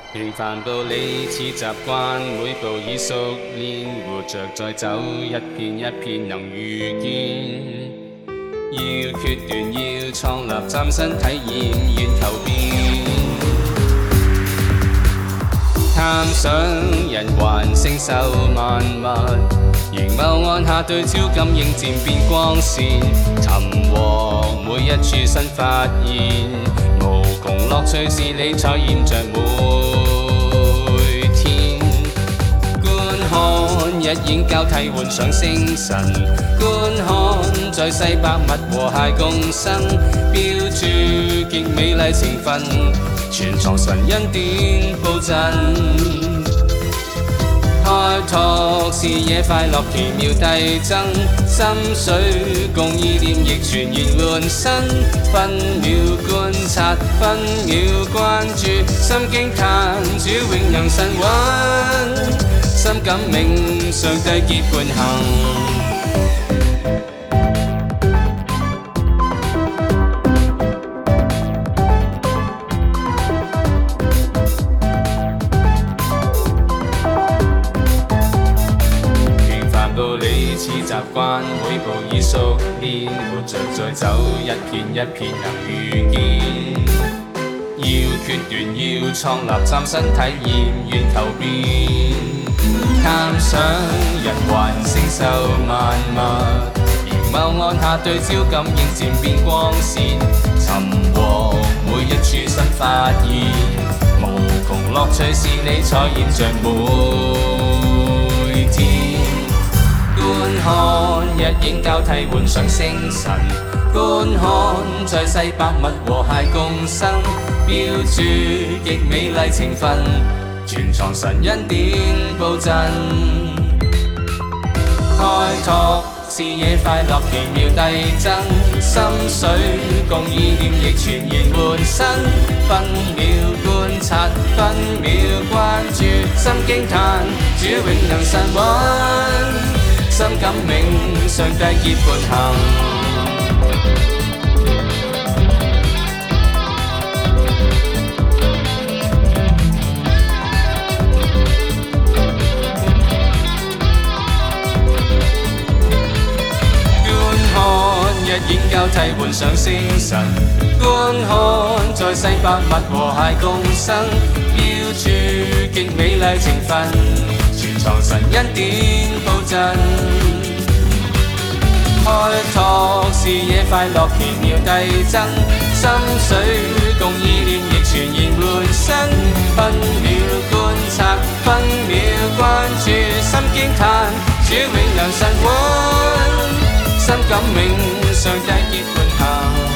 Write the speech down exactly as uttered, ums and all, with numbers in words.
平凡道理似習慣，每步已熟練，活着再走一片一片能遇見。要決斷，要創立，嶄新體驗，願求變。探想人還承受萬物，凝眸按下對焦感應漸變光線，尋獲每一處新發現，無窮樂趣是你採驗着每天。觀看日影交替換上星辰，觀看在世百物和諧共生，標註極美麗情分，全藏神恩典佈陣。開拓視野快樂奇妙遞增，心水共意念亦全然換新，分秒觀察，分秒關注，心驚嘆主永能神韻，心感銘上帝結伴行。道理似習慣，每步已熟練，活着再走一片一片能遇見。要決斷，要創立，嶄新體驗，願求變。探想人還承受萬物，凝眸按下對焦感應漸變光線，尋獲每一處新發現，無窮樂趣是你採驗着每天。觀看日影交替換上星辰，觀看在世百物和諧共生，標註極美麗情分，全藏神恩典佈陣。開拓視野快樂奇妙遞增，心水共意念亦全然換新，分秒觀察，分秒關注，心驚嘆主永能神韻，心感銘上帝結伴行。觀看日影交替換上星辰，觀看在世百物和諧共生，標註極美麗情分，全藏神恩典佈陣。開拓視野快樂奇妙遞增，心水共意念亦全然換新，分秒觀察，分秒關注，心驚嘆主永能神韻，心感銘上帝結伴行。